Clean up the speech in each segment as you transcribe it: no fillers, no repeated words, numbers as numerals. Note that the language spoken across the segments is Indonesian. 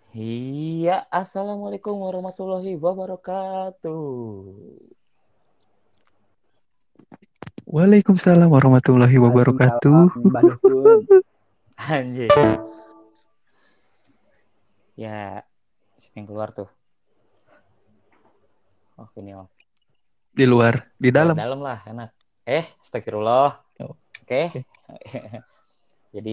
Iya, assalamualaikum warahmatullahi wabarakatuh. Waalaikumsalam warahmatullahi wabarakatuh. Waalaikumsalam, Mbak Dukun. Anjir. Ya, siapa yang keluar tuh? Oh, ini oh. Di luar, di Ya, dalam. dalam lah, enak. Astagfirullah. Oh, Oke. oke. Jadi,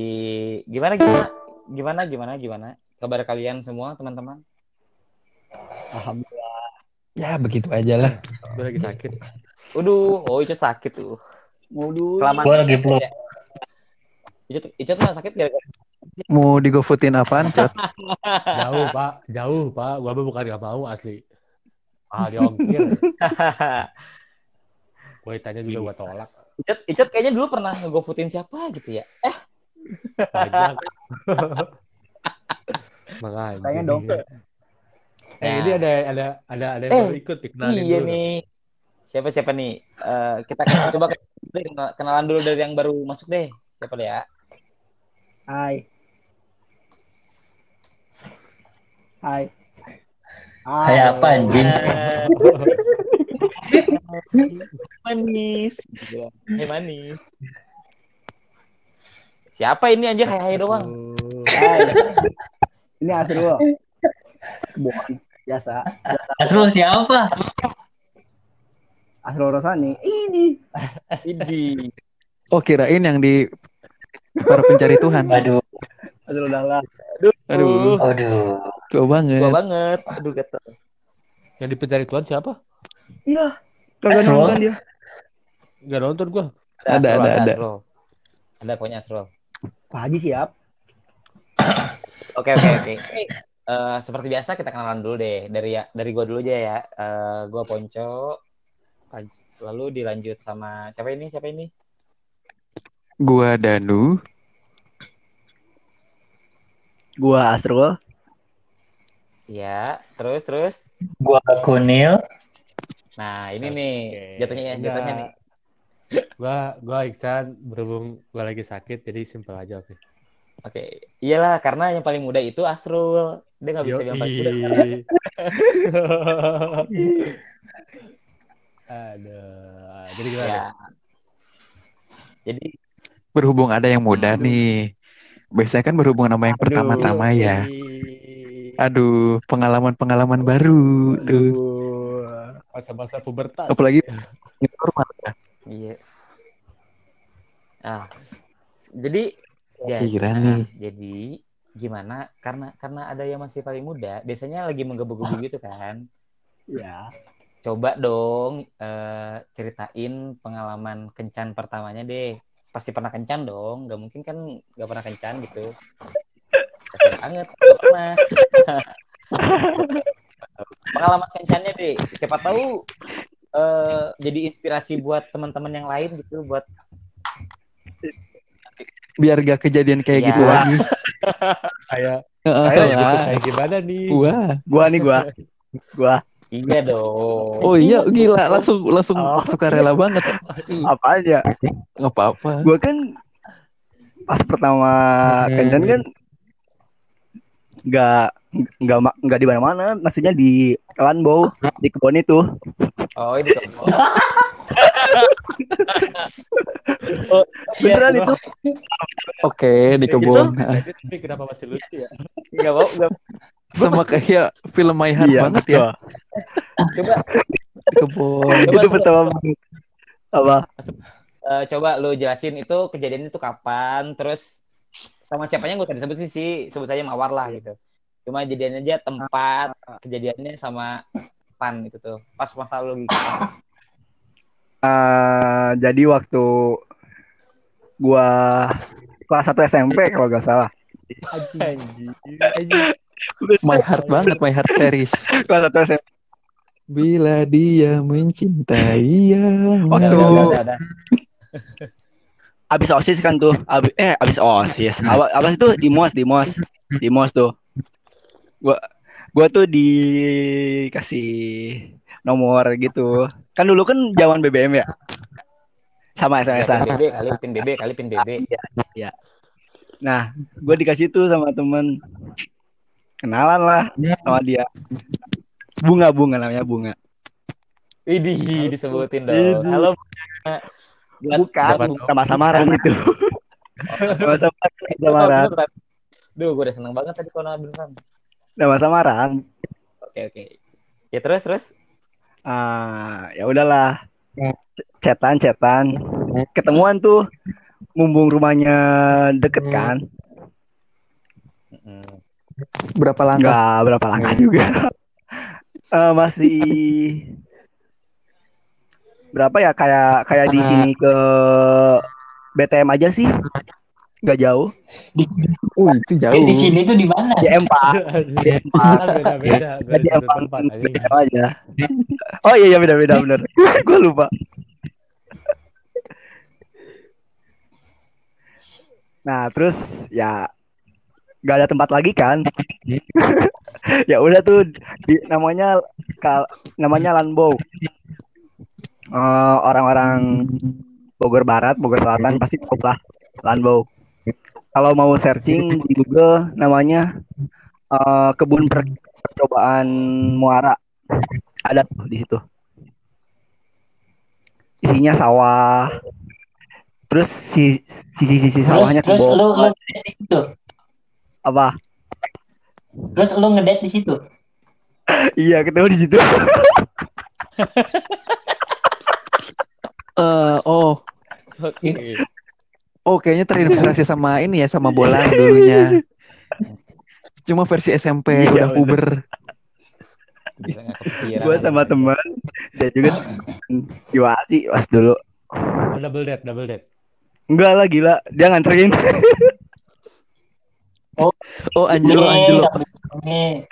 gimana? Kabar kalian semua, teman-teman? Alhamdulillah. Ya begitu aja lah. Gue lagi sakit. Icet sakit tuh. Modul. Kelamaan. Gue lagi flu. Ya. Icet mah sakit gara-gara. Mau digofoodin apaan, Cot? Jauh pak. Gue bukan gak mau asli. Ah diongkir. Gue tanya juga gue tolak. Icet kayaknya dulu pernah ngegofoodin siapa gitu ya? Banyak. Makanya. Kayaknya dong. Ini ada yang baru ikut dikenalin Iya dulu. nih. Siapa nih? Kita coba kenalan dulu dari yang baru masuk deh. Siapa deh ya? Hai. Hai apa anjing? Manis. Hai manis. Siapa ini anjir? Hai doang. Hai. Ini Asrul. Bukan biasa. Asrul siapa? Asrul Rosani. Ini. Idi. Oh, kirain yang di para pencari Tuhan. Aduh, Asrul Dahlan. Aduh, aduh. tua Tua banget. banget. Aduh kata. Yang di pencari Tuhan siapa? Iya. Kagak Asrul? nonton dia. Gak nonton gue. Ada. Asrul. Ada pokoknya Asrul. Pak Haji siap. Oke. Seperti biasa kita kenalan dulu deh. Dari gua dulu aja ya. Gua Ponco. Lalu dilanjut sama siapa ini? Gua Danu. Gua Asrul. Ya, terus. Gua Kunil. Nah, ini nih jatuhnya nih. Gue Iksan, berhubung gue lagi sakit jadi simpel aja oke. Oke, iyalah karena yang paling muda itu Asrul. Dia nggak bisa bilang paling muda sekarang. Aduh, jadi gimana? Ya. Jadi Berhubung ada yang muda nih. Biasanya kan berhubungan sama yang pertama-tama ya. Aduh, pengalaman-pengalaman baru tuh. Masa-masa pubertas. Apalagi normal ya. iya. Jadi jadi gimana? Karena ada yang masih paling muda, biasanya lagi menggebu-gebu gitu kan. Ya. Coba dong ceritain pengalaman kencan pertamanya deh. Pasti pernah kencan dong, nggak mungkin kan nggak pernah kencan gitu. Pasti banget, nggak pernah. Pengalaman kencannya deh, siapa tahu jadi inspirasi buat teman-teman yang lain gitu, buat biar gak kejadian kayak gitu lagi. Kayak gimana nih? Gua. Iya dong. Oh iya, gila, langsung sukarela banget. Apa aja? Nggak apa-apa. Gua kan pas pertama kencan kan nggak di mana-mana, maksudnya di Lanbow, di kebun itu. Oh, ini kebun. Beneran itu. Oke, di kebun. Tapi kenapa masih lucu ya? Nggak mau. Sama kayak film My Heart banget ya. Coba di kebun. Itu pertama apa? Coba lu jelasin itu kejadian itu kapan, terus sama siapanya gue tadi sebut sih, sebut saja Mawar lah gitu. Cuma jadiannya aja tempat kejadiannya sama pan itu tuh. Pas masa lu gitu. Jadi waktu gua kelas 1 SMP kalau gak salah. Anjir. My Heart banget, My Heart series. Kelas 1 SMP. Bila dia mencintai yang Udah. Abis OSIS kan tuh. Abis OSIS. Abis itu di MOS tuh. Gua tuh dikasih nomor gitu. Kan dulu kan zaman BBM ya. Sama SMS-an. Pin BB. Iya. Nah, gue dikasih tuh sama temen. Kenalan lah sama dia. Bunga namanya Bunga. Widih, disebutin dong. Widih. Halo. Bukan, Siapa Bunga tahu. sama samaran itu. Nama samaran. Bener, duh, gue udah seneng banget tadi kalau nama beneran. Nama samaran. Oke. Ya terus. Ya udahlah. Cetan. Ketemuan tuh. Mumpung rumahnya deket kan. Berapa langkah? Enggak berapa langkah juga. Masih berapa ya, kayak di sini ke BTM aja sih. Nggak jauh. Itu jauh. Di sini tuh di mana? Di M4. Kan beda-beda, Di beda M4 tempat anjing. BTM aja. Oh iya beda bener. Gue lupa. Nah, terus ya nggak ada tempat lagi kan. Ya udah tuh namanya Lanbow. Orang-orang Bogor Barat, Bogor Selatan pasti tahu lah Lanbow. Kalau mau searching di Google namanya kebun percobaan Muara. Ada tuh di situ. Isinya sawah. Terus sisi sawahnya Terus kebun. lu ngedate di situ. Apa? Terus lu ngedate di situ. Iya, ketemu di situ. Kayaknya terinspirasi sama ini ya, sama Bolang dulunya. Cuma versi SMP Iya, udah puber. Gue sama teman, dia juga Iwasi pas dulu. Double date. Enggak lah, gila, dia nganterin. Angelo. Ini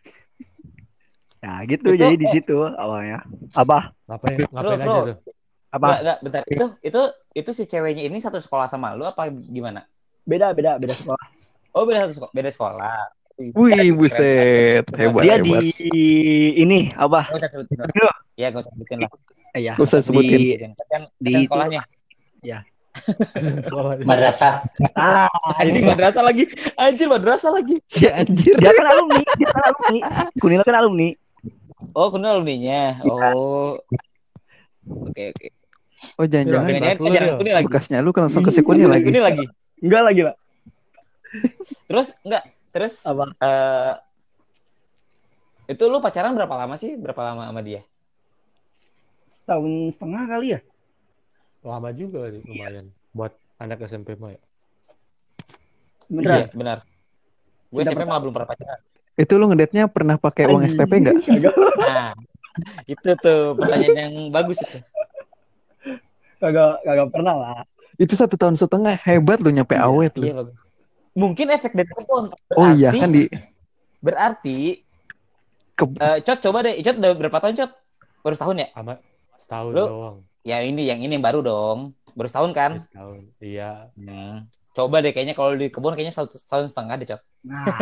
Ya gitu, jadi di situ awalnya. Apa? Ngapain aja tuh? Apa? Enggak, bentar. Itu si ceweknya ini satu sekolah sama lu apa gimana? Beda sekolah. Oh, beda sekolah. Wih, buset. Hebat. Dia di ini apa? Gak usah sebutin lah. Ya, gak usah sebutin lah. Iya. Gak usah sebutin. Kan Di sekolahnya. Ya. madrasah. Anjing madrasah lagi. Ya anjir. Dia kan alumni. Kunil kan alumni. Oh, kenal alumninya. Oh. Oke. Oh, jangan-jangan Jangan Kunil lagi. bekasnya lu kan langsung ke si Kunil lagi. Enggak lagi, Pak. Terus Apa? Itu lu pacaran berapa lama sama dia? Tahun setengah kali ya? Lama juga lumayan buat anak SMP mah ya. Iya, benar. Gue SMP malah belum pernah pacaran. Itu lu ngedate-nya pernah pakai uang SPP enggak? Nah, itu tuh pertanyaan yang bagus itu. Kagak pernah lah. Itu 1 tahun setengah, hebat lu nyampe awet lu. Iya, bagus. Mungkin efek dari kupon. Oh iya kan Berarti Cot coba deh. Cot udah berapa tahun, Cot? Baru setahun ya? Setahun lu, doang. Ya ini yang baru dong. Baru setahun kan? Setahun. Iya. Coba deh, kayaknya kalau di kebun kayaknya 1 tahun setengah deh, Cot. Nah,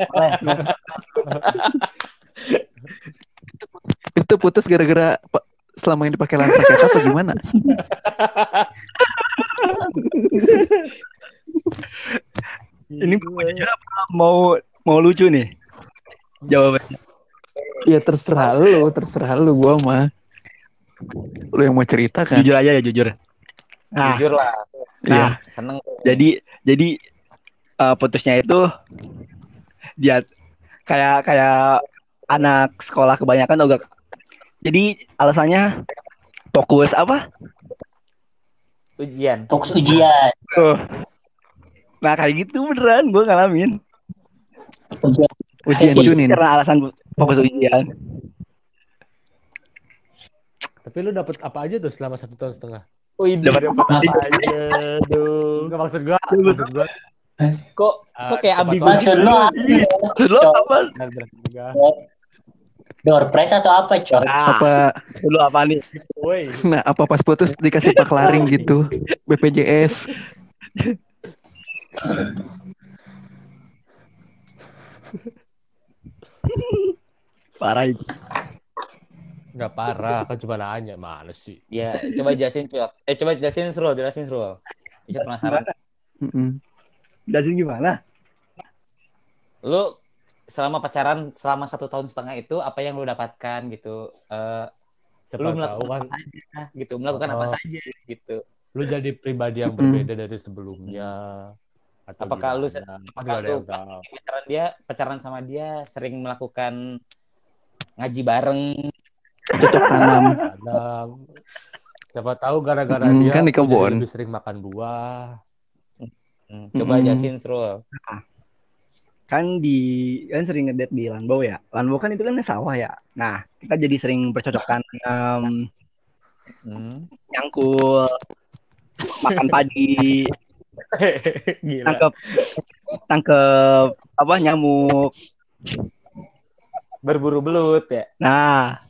itu putus gara-gara selama ini pakai lensa kaca apa gimana? ini mau lucu nih jawabannya. Ya terserah lu gua mah. Lu yang mau cerita kan? Jujur aja ya, jujur. Nah, jujur lah. Nah, seneng. Jadi putusnya itu dia kayak anak sekolah kebanyakan juga. Jadi alasannya fokus apa? Ujian. Fokus ujian. Nah kayak gitu beneran gue ngalamin. Ujian Junin. Karena alasan fokus ujian. Tapi lu dapet apa aja tuh selama 1 tahun setengah? Dapat apa aja? Aduh. Enggak maksud gua. Kok kayak ambigu. Maksud lu apa? Door prize atau apa, Cok? Apa dulu apa nih? Nah, apa pas putus dikasih paklaring gitu, BPJS. Parah itu. Enggak parah, kan cuma nanya, mana sih? Ya, coba jelasin, Cok. Coba jelasin Srul. Saya penasaran. Jelasin gimana? Lu selama pacaran selama 1,5 tahun itu apa yang lu dapatkan gitu. Siapa Lu tahu melakukan kan apa saja gitu, melakukan apa oh, saja gitu. lu jadi pribadi yang berbeda dari sebelumnya atau Apakah lu gimana? Kan apakah gak ada lu yang pas tahu. pacaran sama dia sering melakukan ngaji bareng. Cocok tanam. Kadang siapa tahu gara-gara dia Kan di lu jadi kebun. lebih sering makan buah. Coba jelasin Srul. Kan sering ngedate di Lanbau ya. Lanbau kan itu kan sawah ya. Nah, kita jadi sering bercocok tanam, nyangkul, makan padi, Gila. tangkep apa nyamuk. Berburu belut ya. Nah,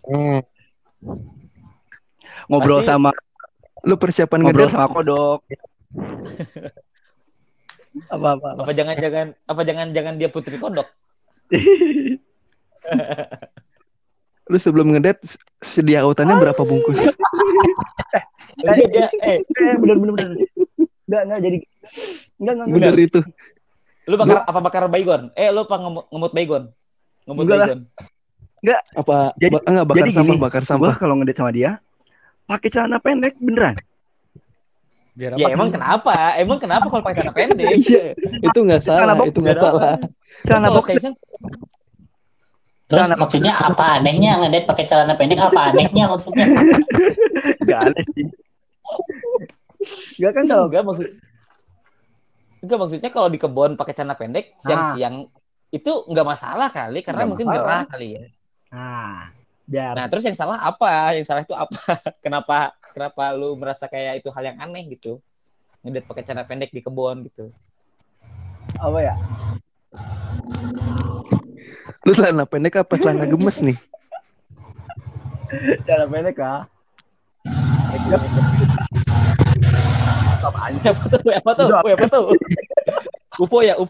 ngobrol Pasti- sama Lu persiapan ngobrol ngedate sama kodok. apa. Apa jangan dia putri kodok? lu sebelum ngedate sedia autannya berapa bungkus? Dia bener. Enggak jadi. Enggak. Bener itu. lu bakar baygon? Lu apa ngemut baygon? Ngemut Enggak lah. baygon. Enggak. Apa Jadi- enggak bakar Jadi sampah, gini, bakar gua sampah. kalau ngedate sama dia pakai celana pendek beneran. Biar Ya apa? emang kenapa kalau pakai celana pendek? Iya, itu enggak salah, Kenapa? itu enggak Biar apa? salah. Celana Kalau boxer. saya iseng, Terus maksudnya apa anehnya ngedate pakai celana pendek? Apa anehnya maksudnya? Enggak aneh sih. Enggak kan kalau enggak maksudnya kalau di kebun pakai celana pendek siang-siang itu enggak masalah kali karena Nggak mungkin masalah. gerah kali ya. biar Nah, terus yang salah apa? Yang salah itu apa? Kenapa lu merasa kayak itu hal yang aneh gitu? Ngedate pakai celana pendek di kebun gitu. apa ya? Lu celana pendek apa celana gemes nih? Celana pendek kah? Apaan? Apa tuh? UFO ya?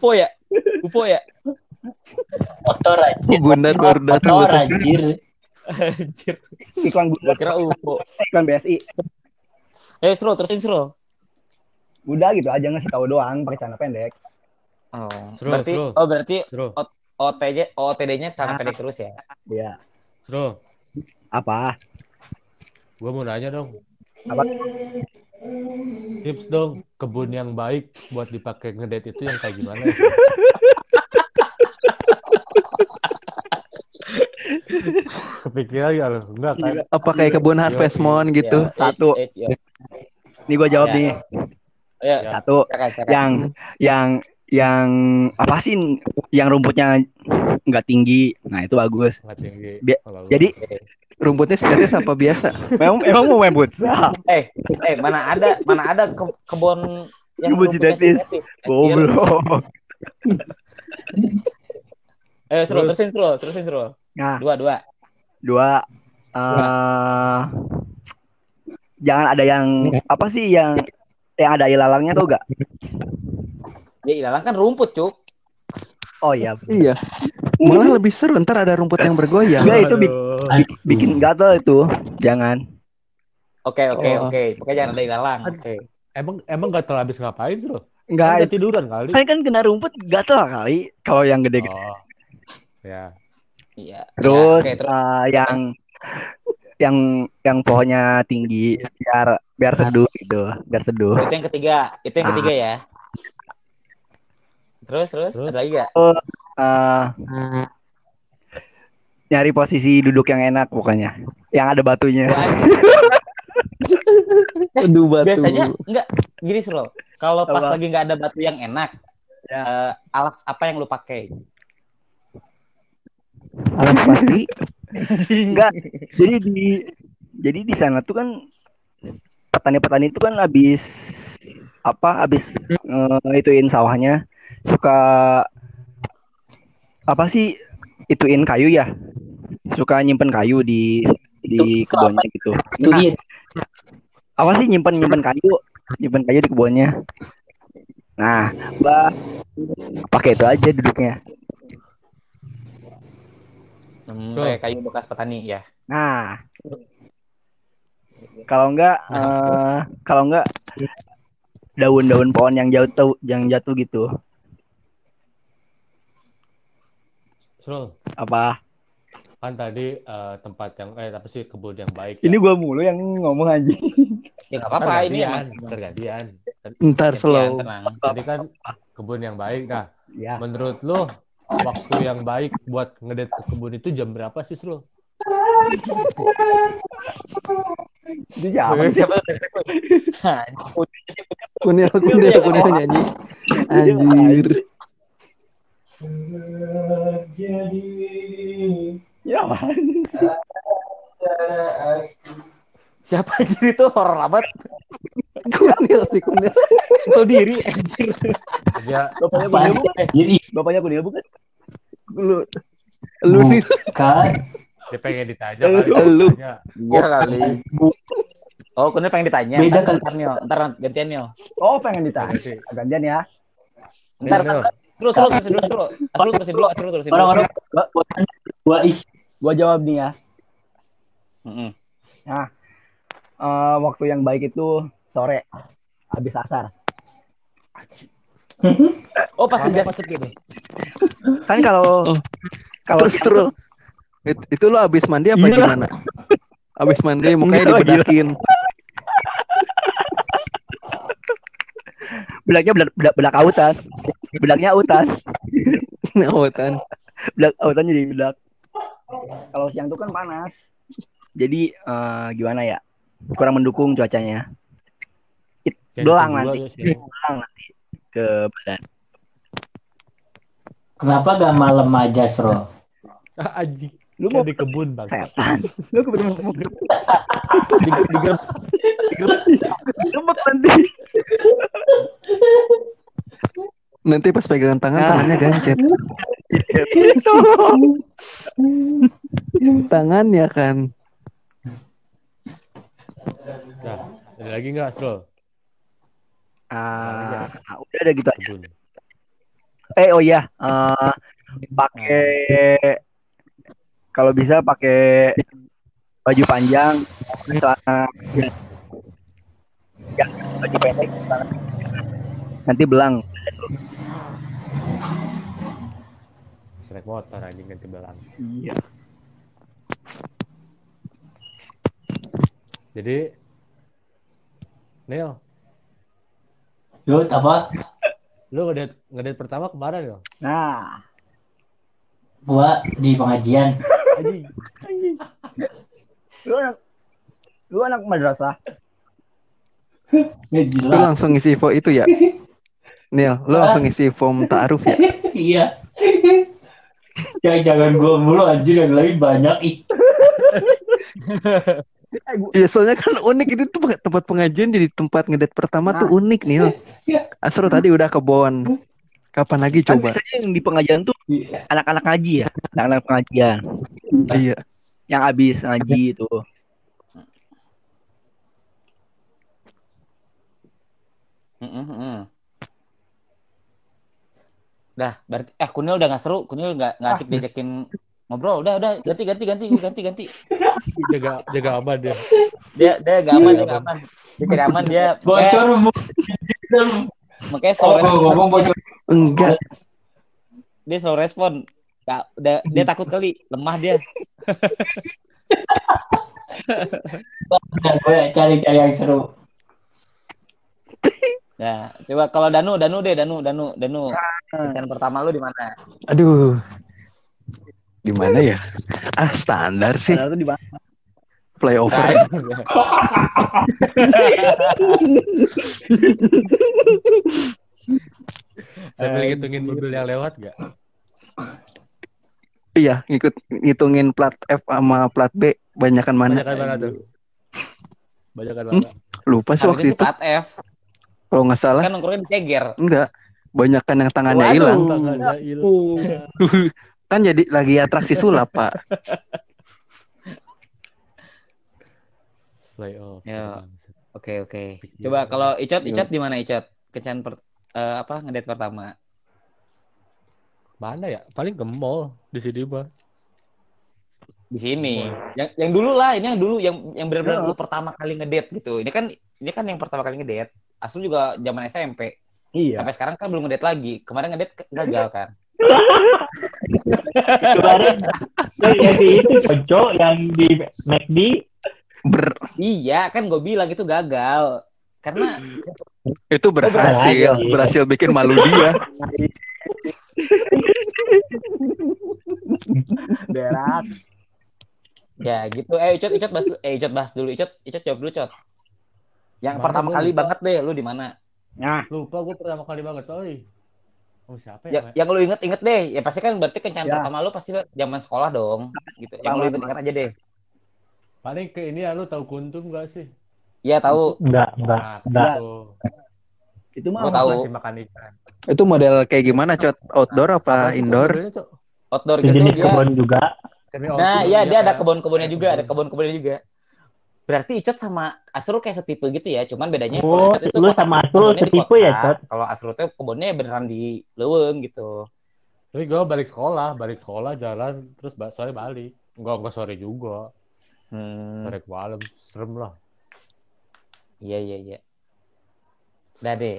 Motor anjir. Bundar baru datang. Motor anjir. Anjir. Iklan Gua kira UFO. iklan BSI. Terusin Sro. Udah gitu aja ngasih tahu doang pakai celana pendek. Berarti Seru. OOTD-nya celana pendek terus ya? Iya. Seru. Apa? Gua mau nanya dong. Apa? Tips dong kebun yang baik buat dipakai ngedate itu yang kayak gimana ya? Kepikiran gak lo? Enggak kan? Apa kayak kebun Harvest Moon gitu? Ya, Satu. ya. Nih gue jawab Ya. nih. Ya. Satu. Silakan. Yang apa sih? Yang rumputnya nggak tinggi. Nah itu bagus. Nggak tinggi. Bi- Jadi Rumputnya sintetis apa biasa? emang mau main futsal? Mana ada kebun yang Kebun rumputnya sintetis. Goblok. Terusin Sro. Nah, Dua. jangan ada yang apa sih yang ada ilalangnya tuh gak? Ya ilalang kan rumput, Cuk. Oh iya. Iya. Malah lebih seru ntar ada rumput yang bergoyang. Enggak itu bikin gatel itu. Jangan. Oke. Pokoknya jangan ada ilalang. Oke. Emang gak terlalu habis ngapain sih lo? Enggak. Kan tiduran kali. Kan kena rumput gatel kali kalau yang gede-gede. Oh. Ya. Iya. Terus, Ya, oke, terus. yang pohonnya tinggi biar seduh gitu, biar seduh. Itu yang ketiga ya. Terus ada lagi gak? Nyari posisi duduk yang enak pokoknya, yang ada batunya. Aduh, batu. Biasanya enggak gini sih lo. Kalau pas Apa? lagi nggak ada batu yang enak, Ya. alas apa yang lu pakai? Alas pasti. Enggak. Jadi di sana tuh kan petani-petani itu kan habis ituin sawahnya suka apa sih ituin kayu ya, suka nyimpen kayu di kebunnya gitu. Ituin. Apa sih nyimpen kayu di kebunnya. Nah, pakai itu aja duduknya. Kayak kayu bekas petani ya. Nah, kalau enggak daun-daun pohon yang jatuh gitu. Srul, Apa? kan tadi tempat yang apa sih kebun yang baik Ini ya. gua mulu yang ngomong anjing. Ya nggak Ntar apa-apa, ini emang gantian. Ntar gantian, slow. tenang. Tadi kan kebun yang baik. Nah, Ya. menurut lu waktu yang baik buat ngedate ke kebun itu jam berapa sih, Srul? Itu siapa? Siapa tuh? Nah, Kunil nyanyi. Anjir. Ya, apaan? siapa anjir itu horor amat. Kunil sih Kunil. Tahu diri anjir. Dia Bapaknya Apaan Kunil sih? bukan? Jadi Bapaknya Kunil bukan? Lu nih. bukan. dia pengen ditanya kali. Lu. Ditanya. Ya kali. Oh, Kunil pengen ditanya. Beda Ntar, kali. ntar gantian Nil. Oh, pengen ditanya. Ganti. Gantian ya. Ntar, Nil. Terus terusin dulu. Terusin dulu. Orang-orang gua Gua jawab nih ya. Mm-mm. Waktu yang baik itu sore, habis asar. Oh, pas Lama senja. pas sepi nih. Kan kalau Terus itu lo abis mandi apa Iya. gimana? Abis mandi mukanya Enggak, dibedakin. belaknya belak autan. Belaknya autan. Ngawatan. Belak autan jadi belak. Kalau siang tuh kan panas. Jadi gimana ya? Kurang mendukung cuacanya. Kayak Belang gitu juga nanti. ya sih. Belang nanti ke badan. kenapa gak malam aja, Sro? Anjing. Lu Kayak mau di kebun bang. setan. Lu kebetulan mau digerebek nanti. Nanti pas pegangan tangan tangannya gancet. Tangannya kan. Nah, ada lagi nggak, Srul? Udah ada gitu aja. Kebun. Oh iya, pakai kalau bisa pakai baju panjang, celana ya, baju pendek, nanti belang. Naik motor anjing ganti belang. Iya. Jadi, Nil, Lu apa? lu ngedate pertama kemarin ya? Nah, Gua di pengajian. Anjing. lu anak madrasah. Ya, Lu gila. langsung ngisi info itu ya? Nil, lu langsung ngisi form ta'aruf ya? Iya. Jangan gua mulu anjir, yang lain banyak ih. Iya, soalnya kan unik itu tuh tempat pengajian jadi tempat ngedate pertama tuh unik Nil. Asro tadi udah kebon. Kapan lagi Kan coba? biasanya yang di pengajian tuh anak-anak ngaji ya, anak-anak pengajian Iya. yang habis ngaji itu. Dah, berarti Kunil udah nggak seru, Kunil nggak asik diajakin ngobrol. Udah ganti. Jaga aman dia. Dia nggak aman, dia nggak aman. Dia cari aman dia. Bocor bu. Makanya slow ngomong bocor. Enggak. dia slow respon. Dia takut kali, lemah dia. Nah, gue cari yang seru. Nah, coba kalau Danu. Kencan pertama lu di mana? Aduh. Di mana ya? Standar sih. Padahal tuh di mana? Flyover. Sambil ngitungin mobil yang lewat gak? Iya, ngitungin plat F sama plat B banyakan mana? Banyakan mana tuh? Banyakan mana? Lupa sih waktu Harusnya sih itu. plat F. Kalau nggak salah. Kan nongkrongnya di Ceger. Enggak. Banyakan yang tangannya Waduh. hilang. Tangannya hilang. Kan jadi lagi atraksi sulap, Pak. Playoff. Ya. Oke. Coba kalau Icot di mana Icot? Kencan ngedate pertama. Mana ya? Paling ke mall di sini mah. Di sini. Yang dulu lah, ini yang dulu yang benar-benar lu pertama kali ngedate gitu. Ini kan yang pertama kali ngedate. Asli juga zaman SMP. Iya. Sampai sekarang kan belum ngedate lagi. Kemarin ngedate gagal kan. Kemarin yang di itu cocok yang di McD. Iya, kan gue bilang itu gagal. Karena Itu berhasil bikin malu dia. Berat. ya gitu. Icot bahas dulu. Icot jawab dulu, Cot. Yang Mana pertama gua kali lupa. banget deh, lu di mana? Nah, Lupa gue pertama kali banget, oi. Oh, siapa Ya, ya? yang lu inget deh. Ya pasti kan berarti kencan Ya. pertama lu pasti zaman sekolah dong, gitu. Yang lu inget aja deh. Paling ke ini ya, lu tahu Kuntum gak sih? Iya, tahu. Enggak. Nah, Enggak. itu. itu mah Gua tahu. Masih makan ikan. Itu model kayak gimana, Cot? Outdoor apa sih, Cok, indoor? modelnya, Cok? Outdoor gitu Sejenis dia. kebun juga. Nah, iya dia ada kayak- kebun-kebunnya kayak juga, ada kebun. kebun-kebunnya juga. Berarti Icot sama Asrul kayak setipe gitu ya, cuman bedanya Oh, kalau Icot itu lu sama Asrul kebunnya di setipe ya, kota. Cot? Kalau Asrul tuh kebunnya beneran di Leuweung gitu. Tapi gue balik sekolah jalan terus sore balik. Enggak sore juga. Sore ke malam, serem lah. Iya. Udah deh.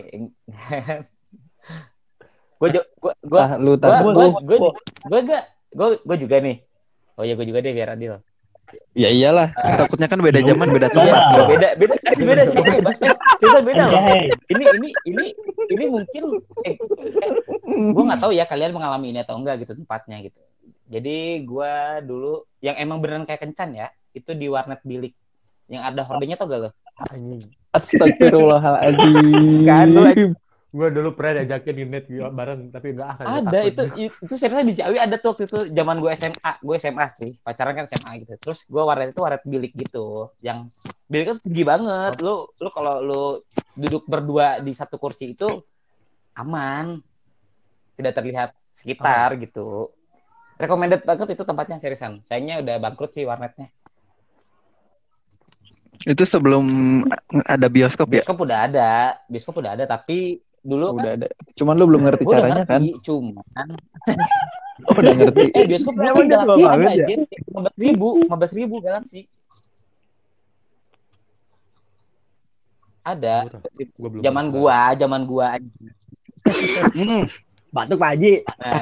Gue juga nih. Oh ya, gue juga deh biar adil. Ya iyalah, takutnya kan beda zaman, beda Iya. tempat. Beda sih. Cerita beda loh. Anjay. Ini mungkin gue nggak tahu ya kalian mengalami ini atau enggak gitu tempatnya gitu. Jadi gue dulu yang emang beneran kayak kencan ya, itu di warnet bilik yang ada hordengnya tau gak lo? Anjing. Astagfirullahaladzim. Kan lu Gue dulu pernah diajakin di net bareng tapi enggak akan. ada itu seriusnya di Ciawi ada tuh waktu itu zaman gue SMA sih, pacaran kan SMA gitu. Terus gue warnet itu warnet bilik gitu, yang biliknya tuh tinggi banget. Lu kalau lu duduk berdua di satu kursi itu aman, tidak terlihat sekitar gitu. Recommended banget itu tempatnya, seriusan. Sayangnya udah bangkrut sih warnetnya. Itu sebelum ada bioskop ya? Bioskop udah ada tapi dulu Udah ada. Cuman lu belum ngerti gue udah caranya kan? ngerti, cuman Oh, udah ngerti. bioskop dulu kan Emang dia Galaxy tua ada banget ya? aja 15.000 Galaxy ada. Gua belum Zaman gua aja. batuk Pak Haji.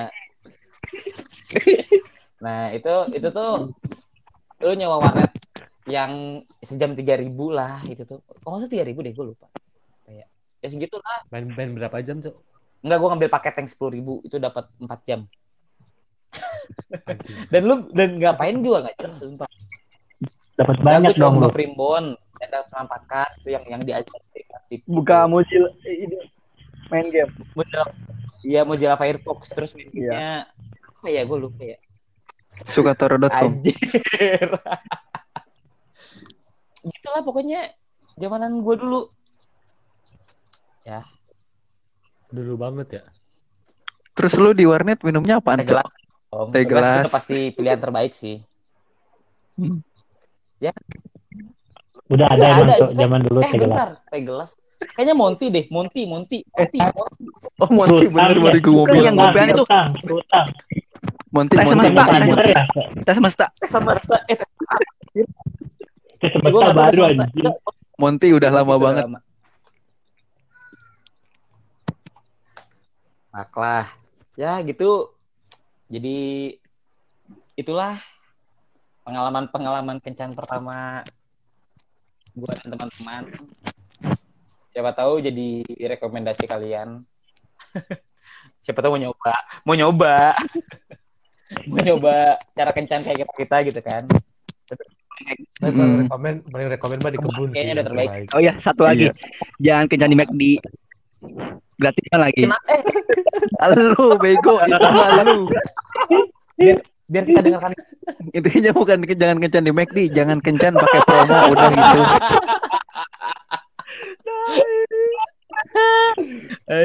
Nah itu tuh lu nyewa warnet yang sejam 3.000 lah itu tuh. Kalau nggak salah 3.000 deh, gue lupa. Ya segitu lah. Main berapa jam, Cok? Enggak, gue ngambil paket yang 10.000 itu dapat 4 jam. Anjing. Dan ngapain juga nggak jelas sumpah. Dapat banyak dong lu. Gue primbon, ada penampakan itu yang diajar. Buka Mozilla ini main game. Mozilla Firefox terus main gamenya apa ya, gue lupa ya. Sukatoro.com. Anjir. Gitulah pokoknya zamanan gue dulu. Ya. Dulu banget ya. Terus lu di warnet minumnya apaan, Cok? Teh gelas. Itu pasti pilihan terbaik sih. Ya. Udah ada emang tuh zaman dulu teh gelas. Bentar, teh gelas. Kayaknya Monty deh, Monty. Oh, Monty bener baru gue mau Bukan bilang. yang gopean itu. Rutang. Monty. Teh semesta. Ya. Teh semesta. Semesta. Teh semesta baru aja. Monty udah lama banget. Maklah. Ya gitu. Jadi itulah pengalaman kencan pertama gue dan teman-teman. Siapa tahu jadi rekomendasi kalian. Siapa tahu mau nyoba cara kencan kayak kita gitu kan. Paling rekomen mah di kebun Kayaknya sih, udah terbaik. Oh ya, satu lagi. Jangan kencan di McD. Gratisan lagi. Lu bego, itu mah lu. Biar kita dengarkan. Intinya bukan jangan kencan di McD, jangan kencan pakai promo, udah gitu.